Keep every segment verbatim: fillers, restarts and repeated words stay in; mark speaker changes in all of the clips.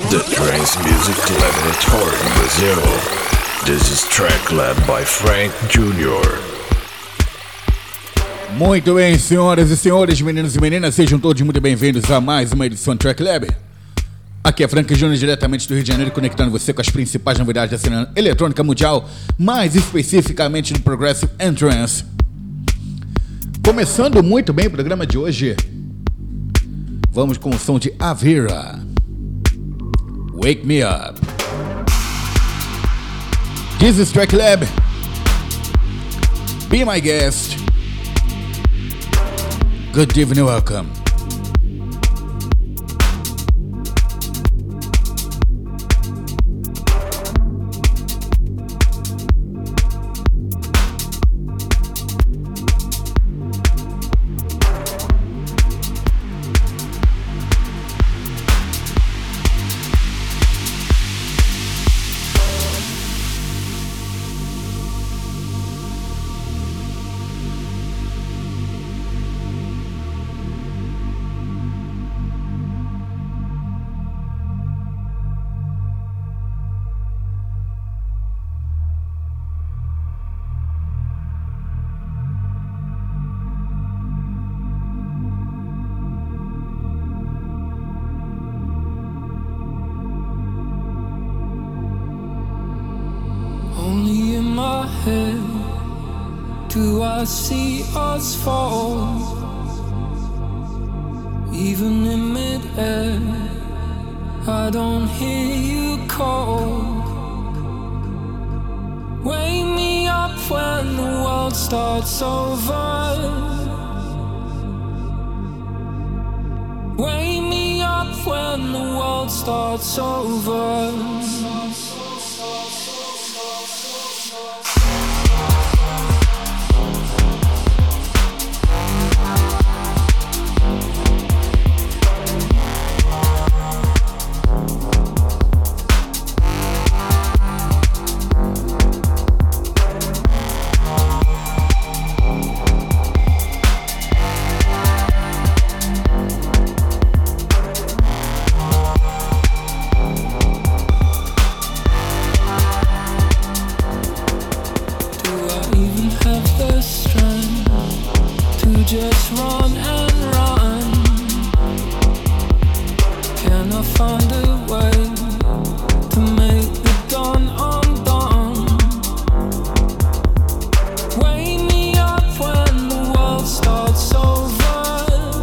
Speaker 1: The trance music laboratory in Brazil. This is track led by Frank Junior
Speaker 2: Muito bem, senhoras e senhores, meninos e meninas, sejam todos muito bem-vindos a mais uma edição do Track Lab. Aqui é Frank Junior, diretamente do Rio de Janeiro, conectando você com as principais novidades da cena eletrônica mundial, mais especificamente do Progressive Trance. Começando muito bem o programa de hoje, vamos com o som de Avira, Wake Me Up. This is Track Lab. Be my guest. Good evening, welcome.
Speaker 3: Do I see us fall? Even in mid-air, I don't hear you call. Wake me up when the world starts over. Wake me up when the world starts over. Just run and run. Can I find a way to make the dawn undone? Wake me up when the world starts over.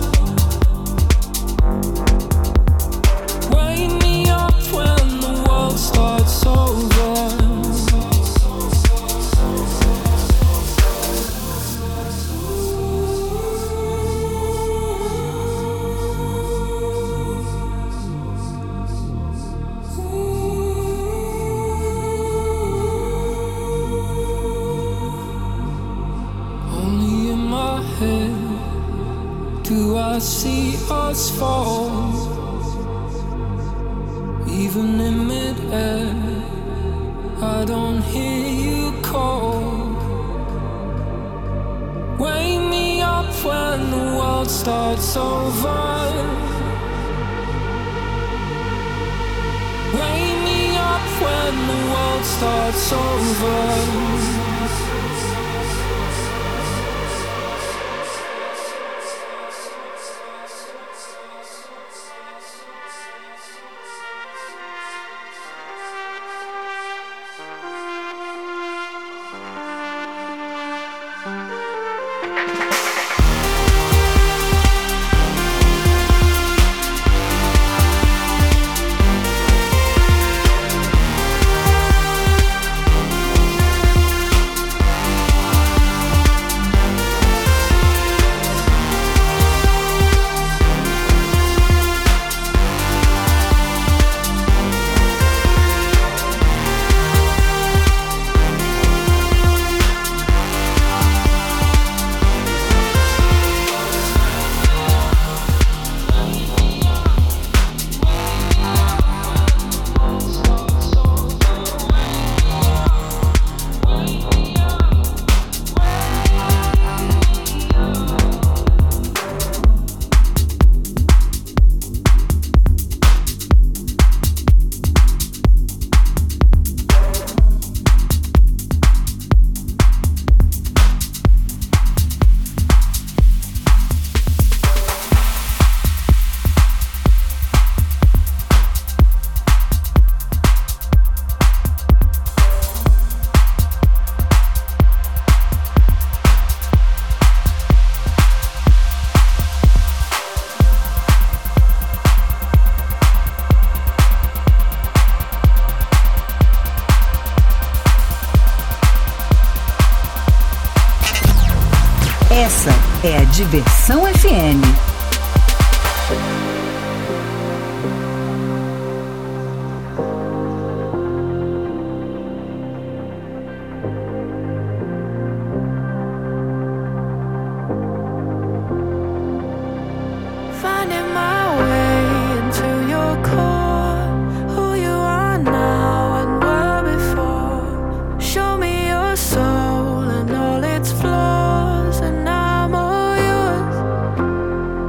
Speaker 3: Wake me up when the world starts over. Do I see us fall? Even in mid-air, I don't hear you call. Wake me up when the world starts over. Wake me up when the world starts over.
Speaker 4: Essa é a Diversão F M.
Speaker 3: Finding my way into your core, who you are now and were before. Show me your soul and all its flaws, and I'm all yours.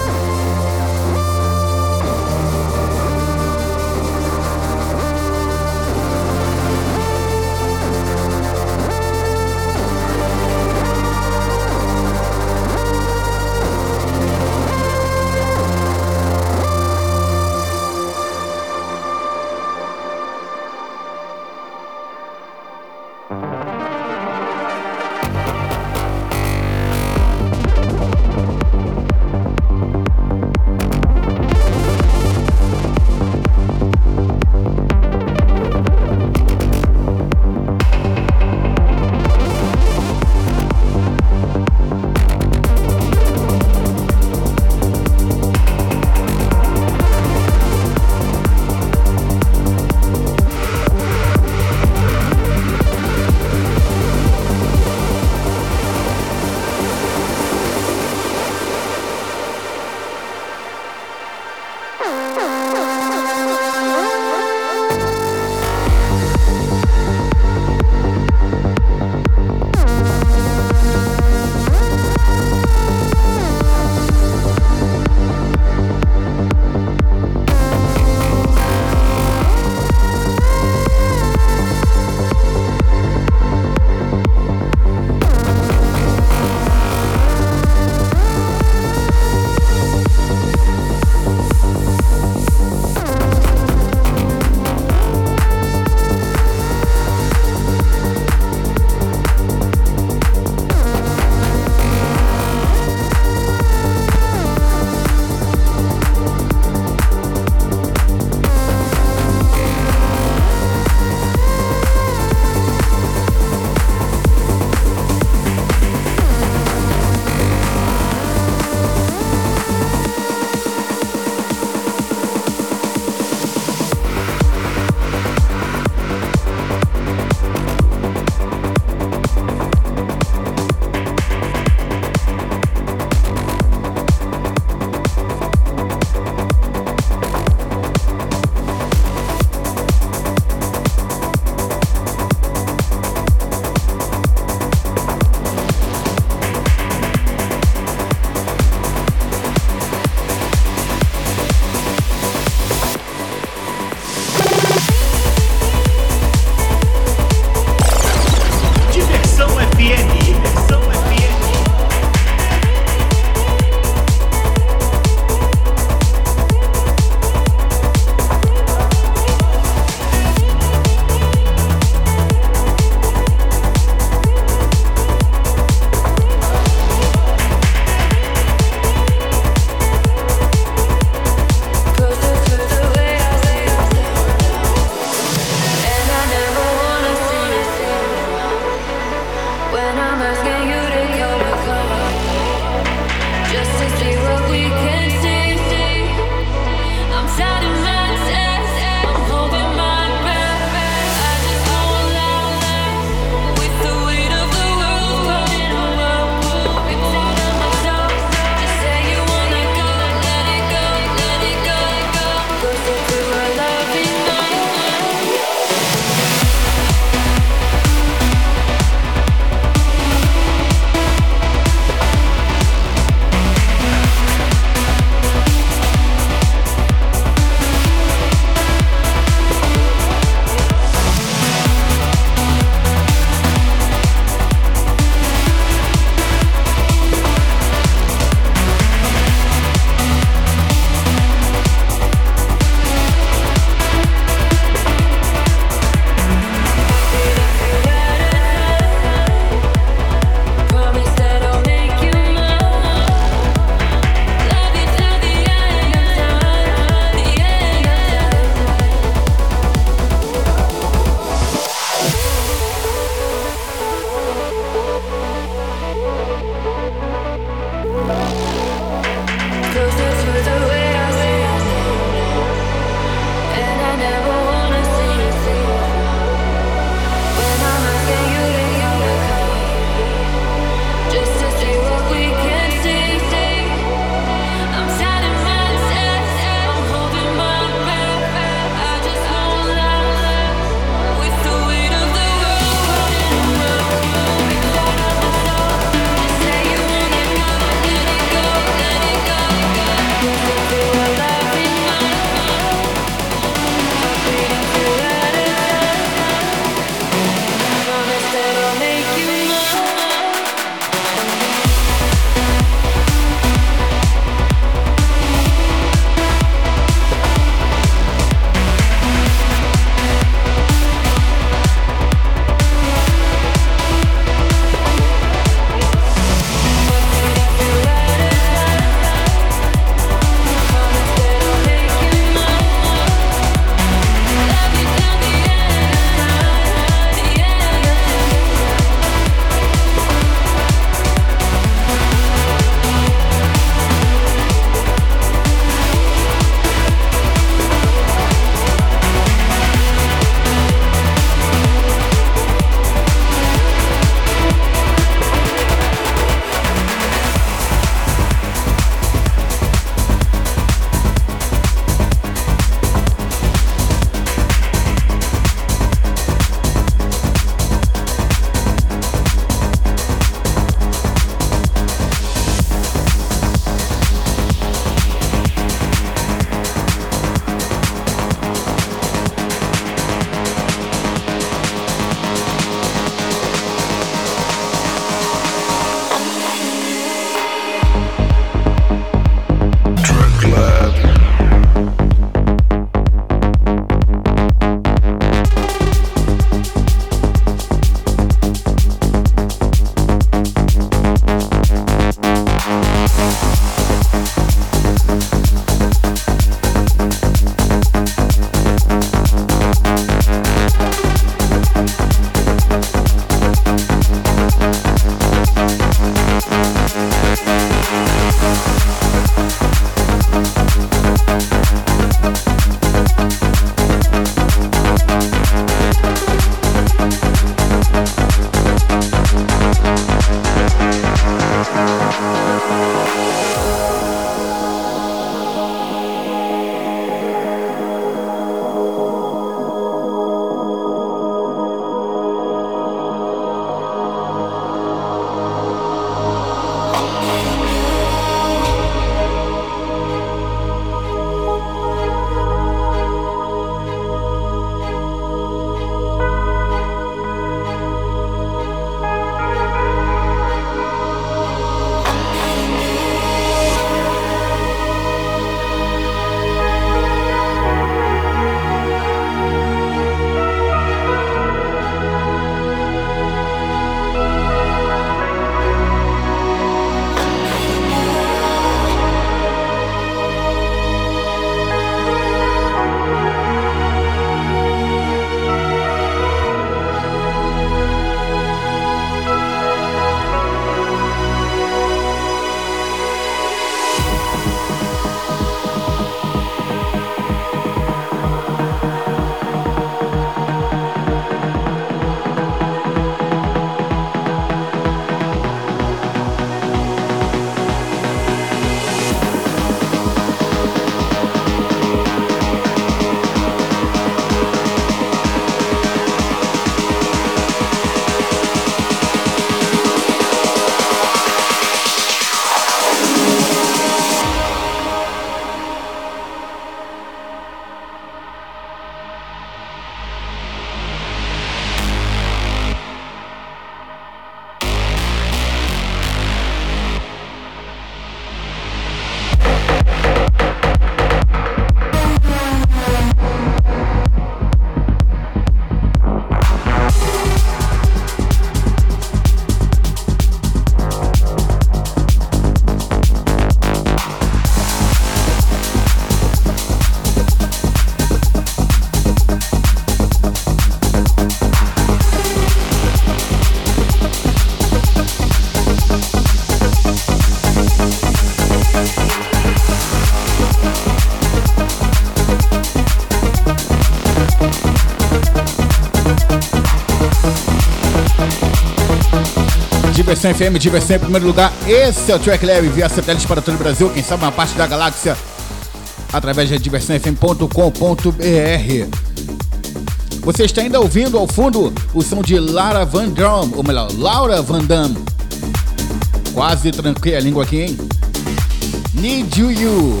Speaker 2: Diversão F M, diversão em primeiro lugar. Esse é o Track Lab via satélite para todo o Brasil, quem sabe uma parte da galáxia, através de diversão f m ponto com ponto b r. Você está ainda ouvindo ao fundo o som de Lara Van Damme, ou melhor, Laura Van Damme. Quase tranquei a língua aqui, hein? Need You You.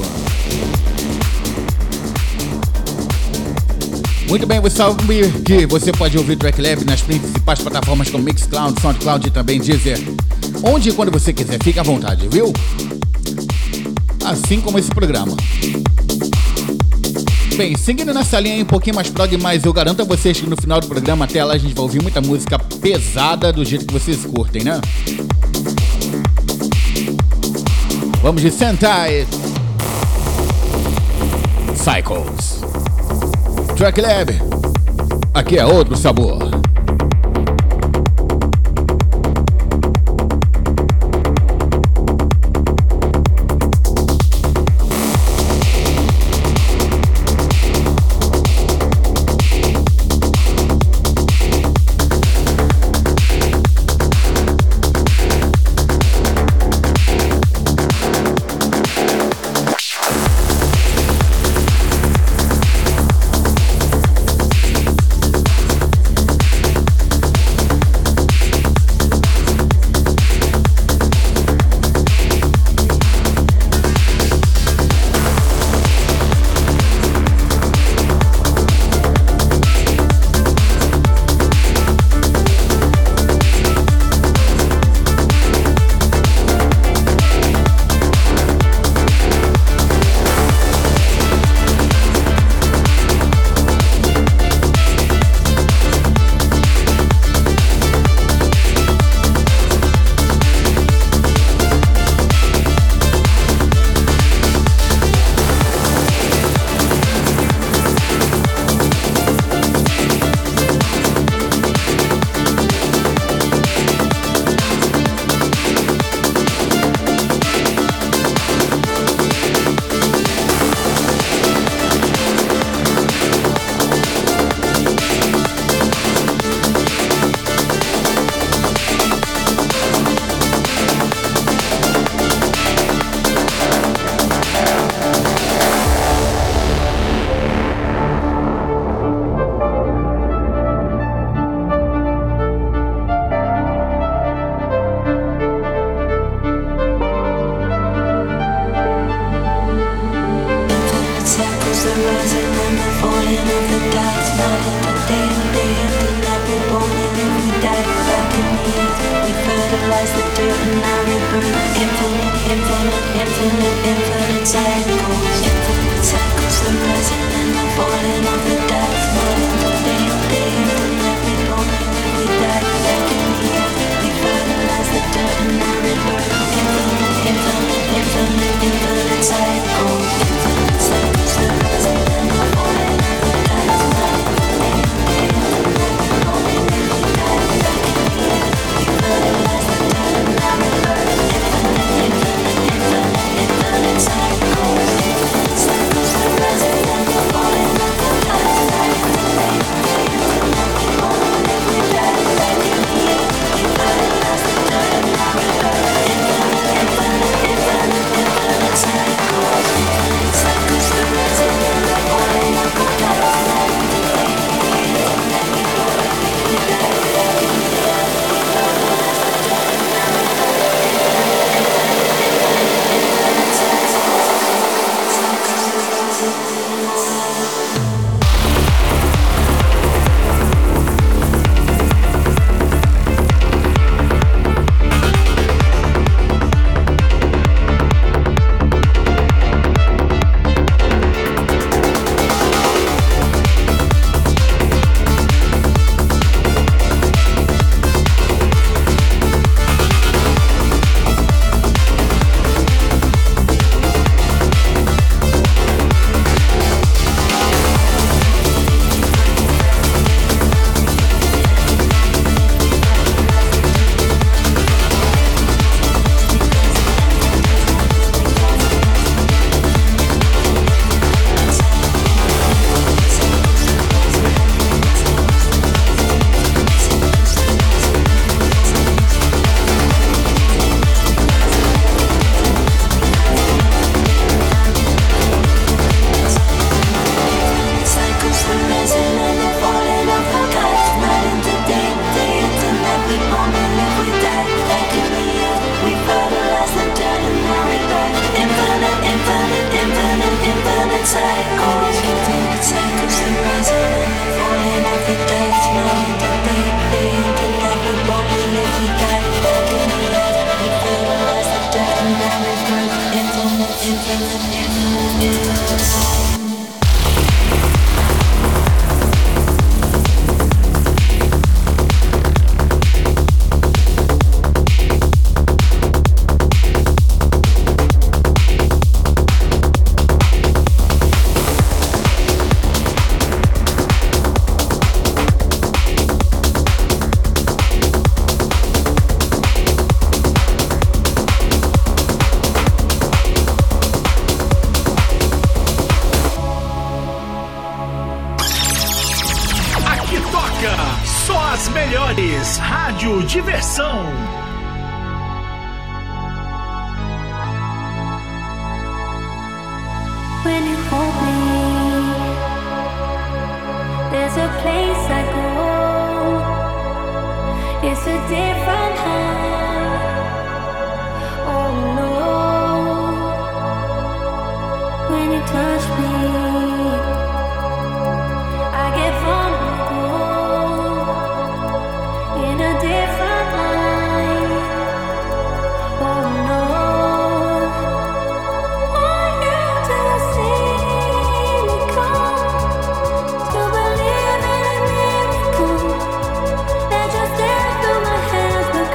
Speaker 2: Muito bem, você sabe que você pode ouvir o Track Lab nas principais plataformas como Mixcloud, Soundcloud e também Deezer. Onde e quando você quiser, fique à vontade, viu? Assim como esse programa. Bem, seguindo nessa linha aí um pouquinho mais prog, mas eu garanto a vocês que no final do programa, até lá, a gente vai ouvir muita música pesada do jeito que vocês curtem, né? Vamos de Sentai Cycles. Track Lab, aqui é outro sabor.
Speaker 5: Cycles. Rádio Diversão.
Speaker 3: When you hold me, there's a place I go. It's a different high. Oh no. When you touch me, I get vulnerable in a different light. Oh no. Want you to see me come, to believe in a miracle that just step through my hands.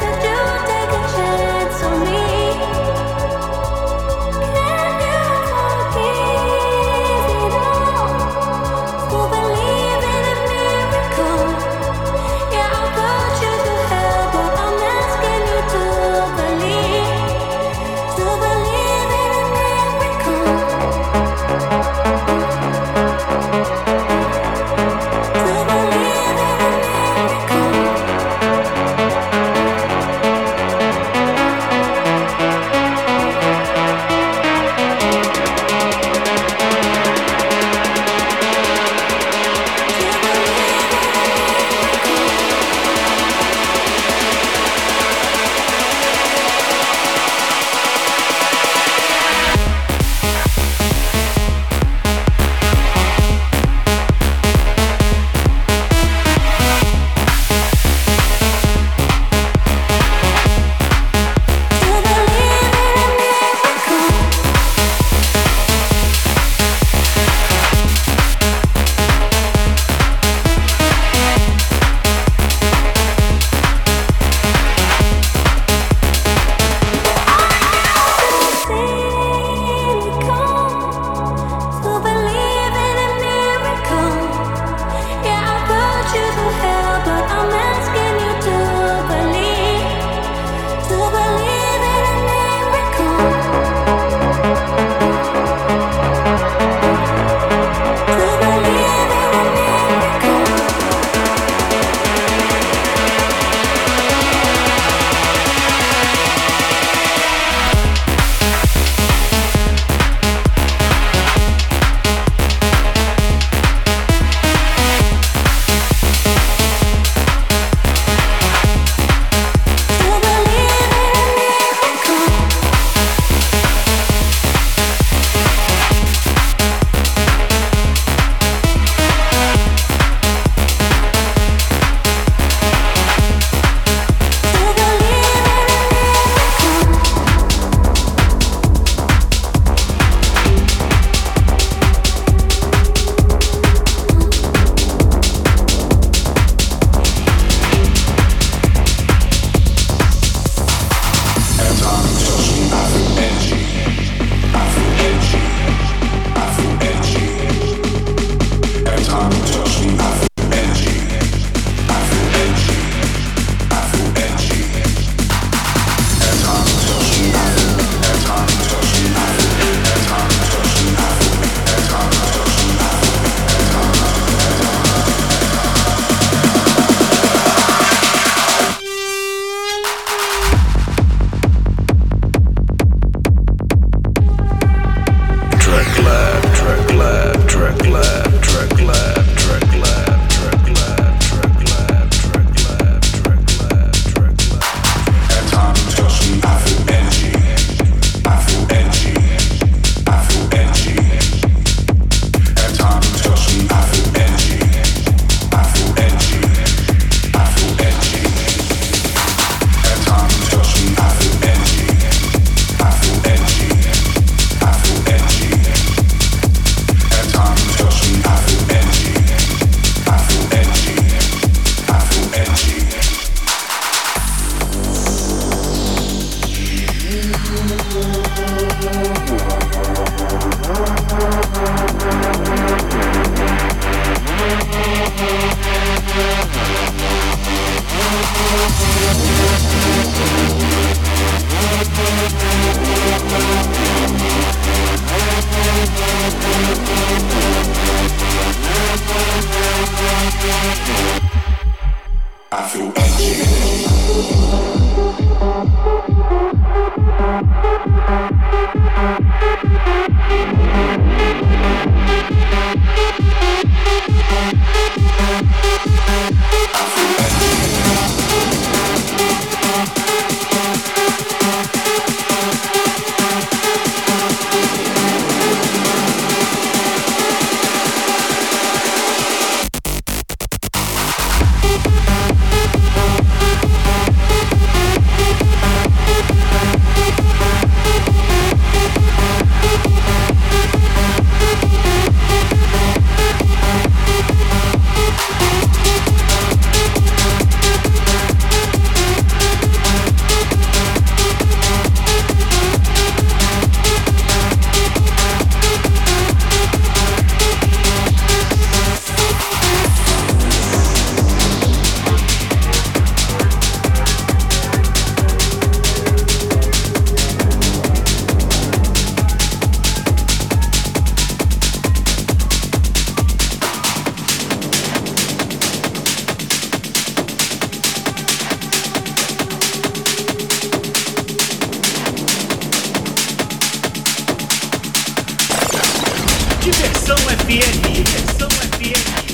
Speaker 5: Diversão F M. Diversão F M.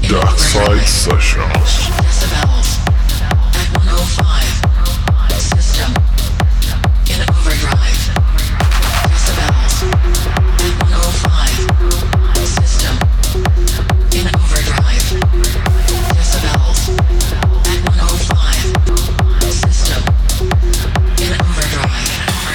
Speaker 6: Dark Side Sessions.
Speaker 7: Decibels at one oh five. System in overdrive. Decibels at one oh five. System in overdrive. Decibels at one oh five. System in overdrive.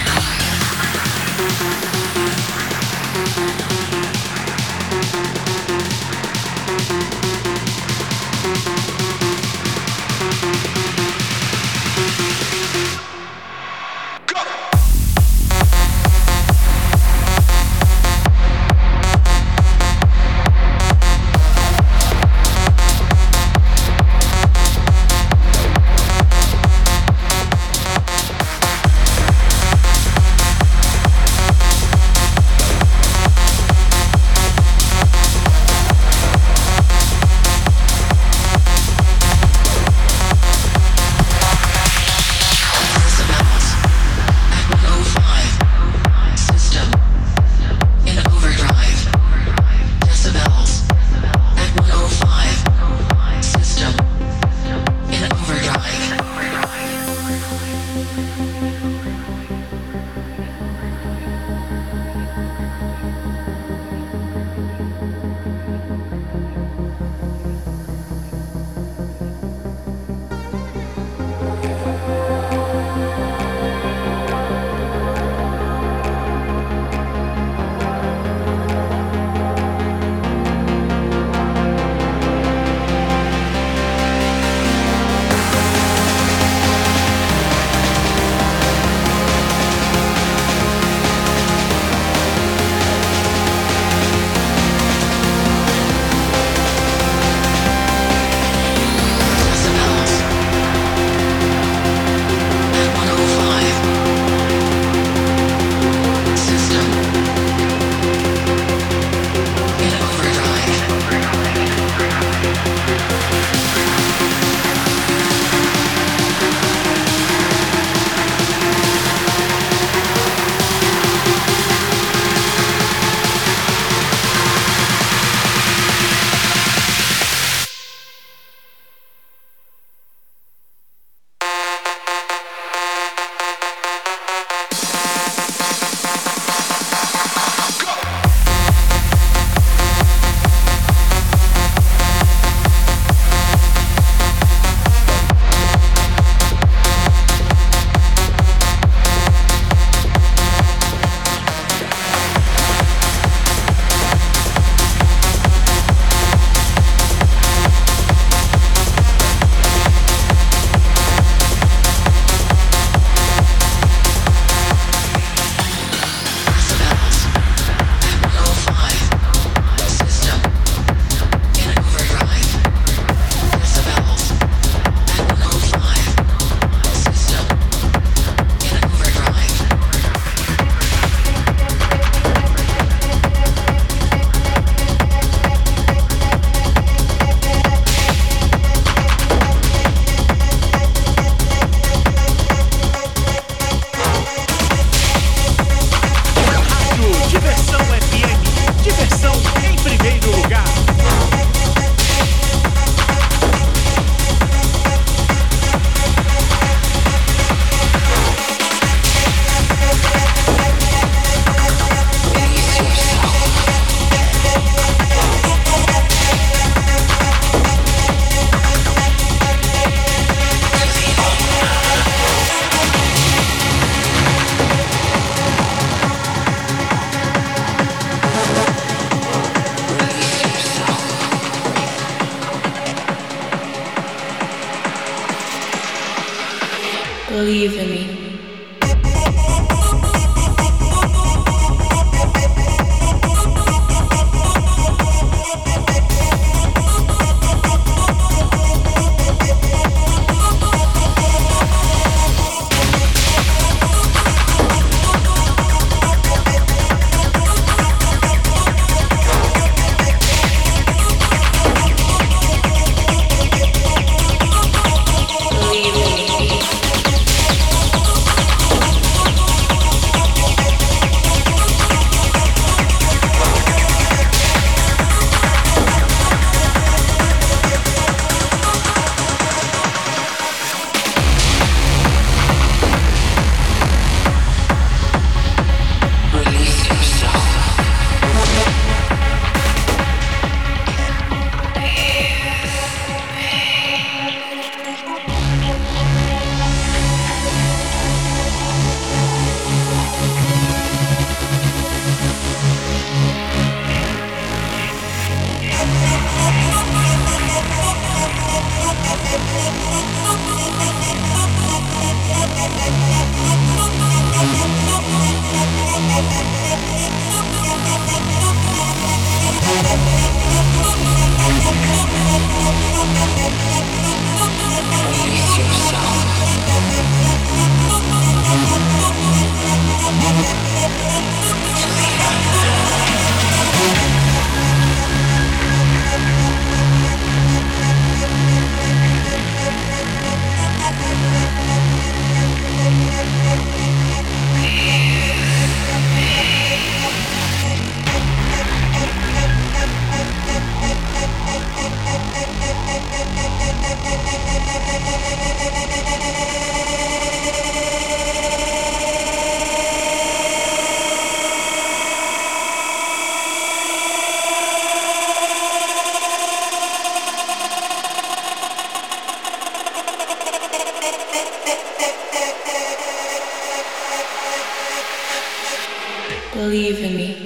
Speaker 8: Believe in me.
Speaker 7: Believe in me.
Speaker 8: Believe in me.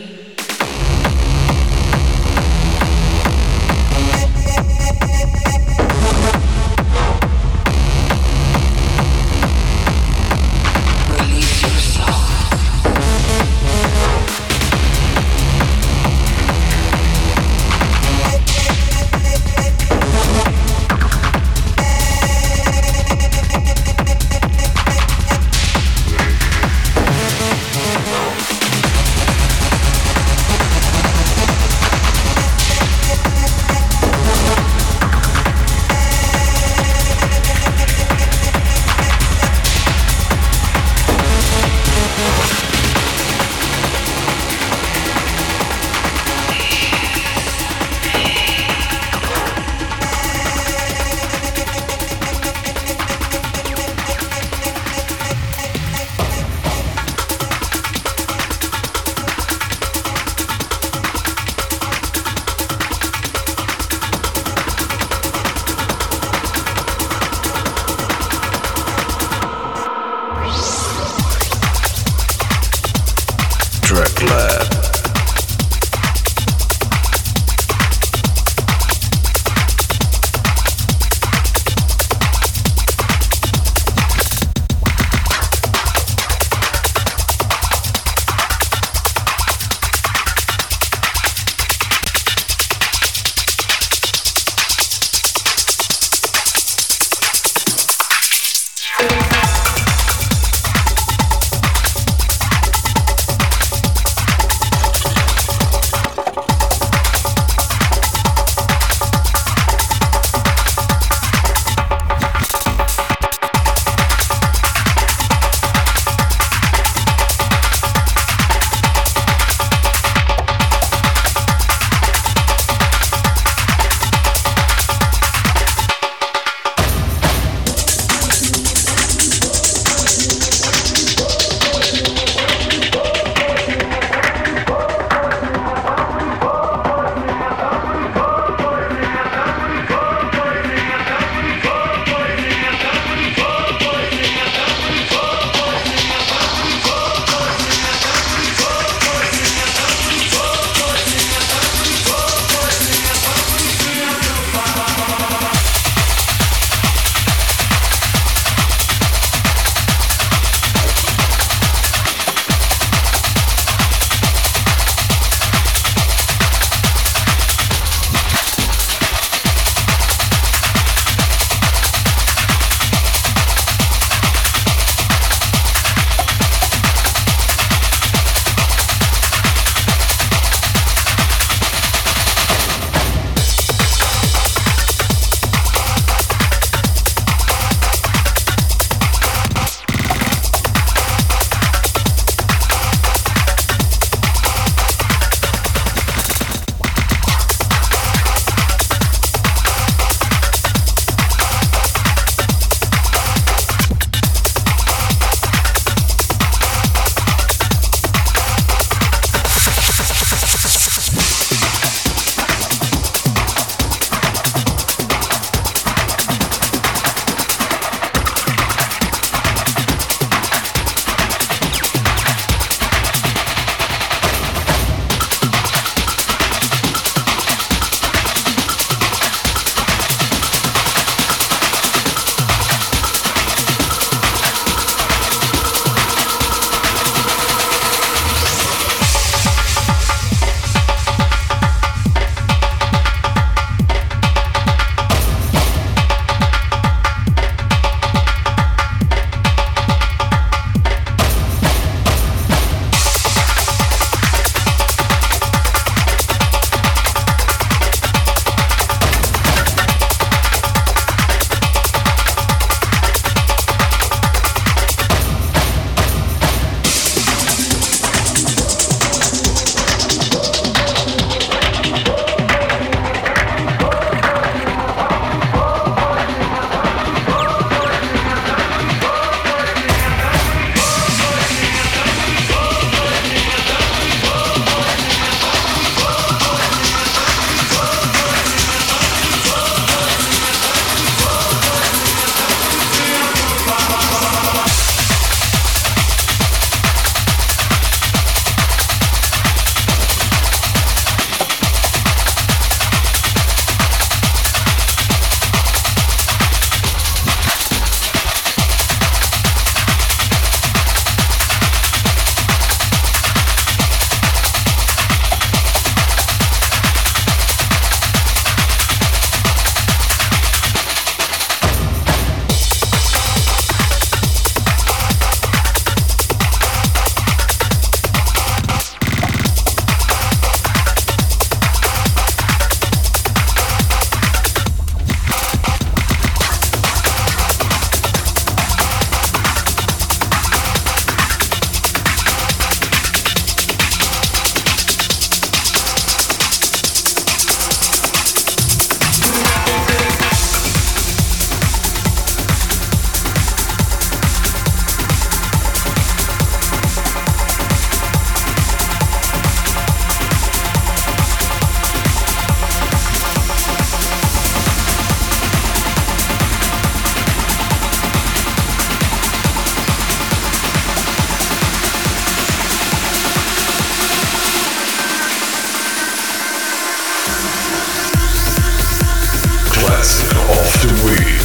Speaker 6: Selective Week.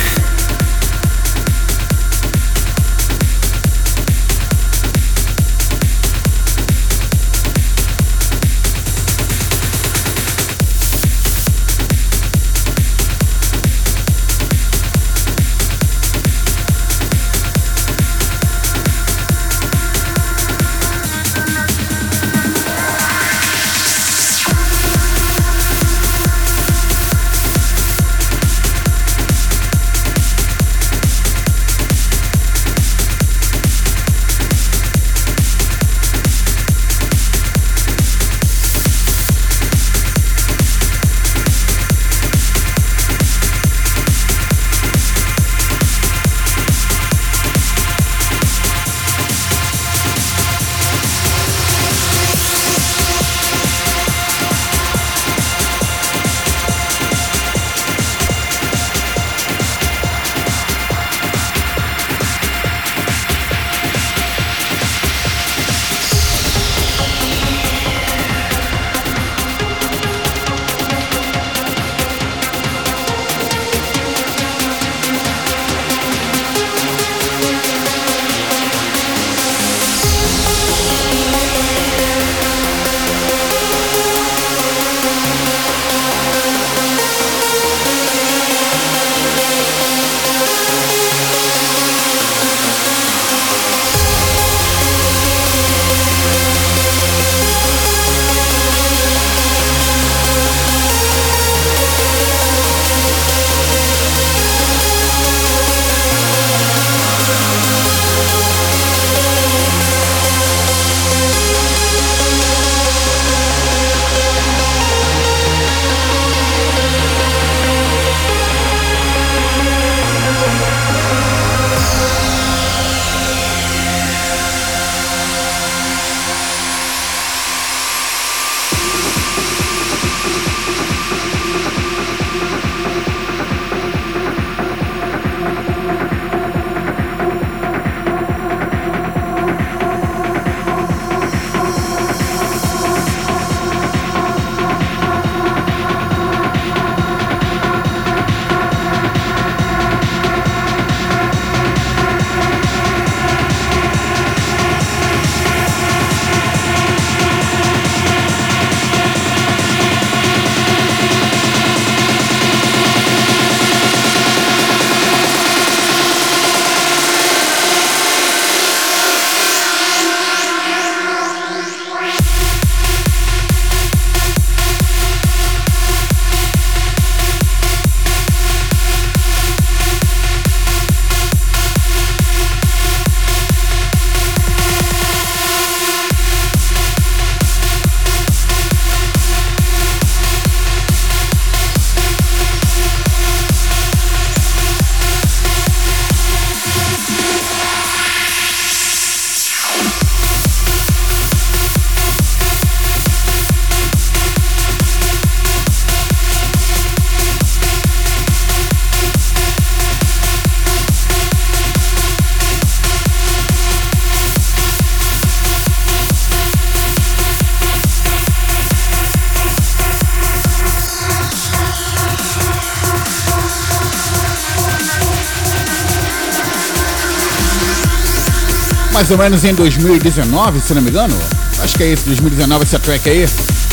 Speaker 2: mais ou menos em dois mil e dezenove, se não me engano. Acho que é isso, dois mil e dezenove, essa track aí.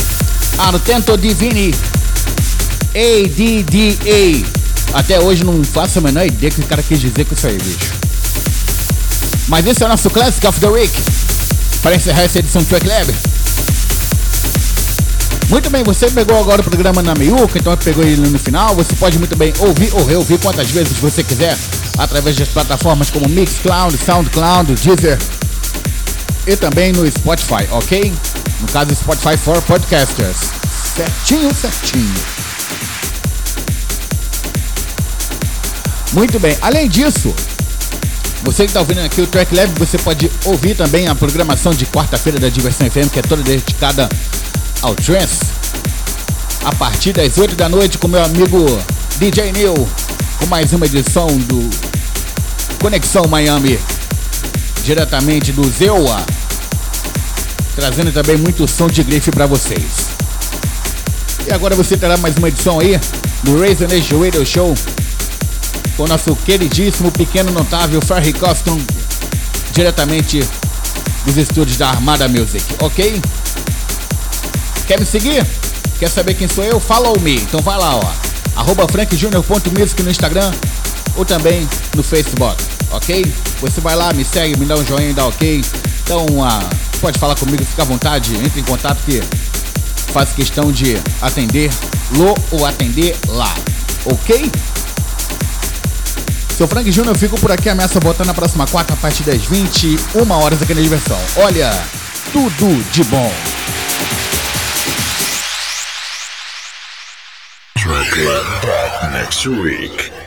Speaker 2: Artento Divini A D D A. Até hoje não faço a menor ideia que o cara quis dizer com isso aí, bicho. Mas esse é o nosso Classic of the Week, para encerrar essa edição do Track Lab. Muito bem, você pegou agora o programa na meiuca, então pegou ele no final. Você pode muito bem ouvir ou reouvir quantas vezes você quiser, através das plataformas como Mixcloud, Soundcloud, Deezer e também no Spotify, ok? No caso, Spotify for Podcasters. Certinho, certinho. Muito bem, além disso, você que está ouvindo aqui o Track Lab, você pode ouvir também a programação de quarta-feira da Diversão F M, que é toda dedicada ao trance, a partir das oito da noite, com meu amigo D J Neil, com mais uma edição do Conexão Miami, diretamente do Zewa, trazendo também muito som de grife para vocês. E agora você terá mais uma edição aí do Raise the Nation Radio Show, com o nosso queridíssimo, pequeno, notável Ferry Coston, diretamente dos estúdios da Armada Music, ok? Quer me seguir? Quer saber quem sou eu? Follow me. Então vai lá, ó. arroba frank junior ponto music no Instagram ou também no Facebook, ok? Você vai lá, me segue, me dá um joinha, dá ok. Então, uh, pode falar comigo, fica à vontade, entre em contato que faço questão de atender lo ou atender lá, ok? Seu Frank Júnior, eu fico por aqui, ameaça voltar na próxima quarta a partir das vinte e uma horas aqui na Diversão. Olha, tudo de bom.
Speaker 1: Track Lab back next week.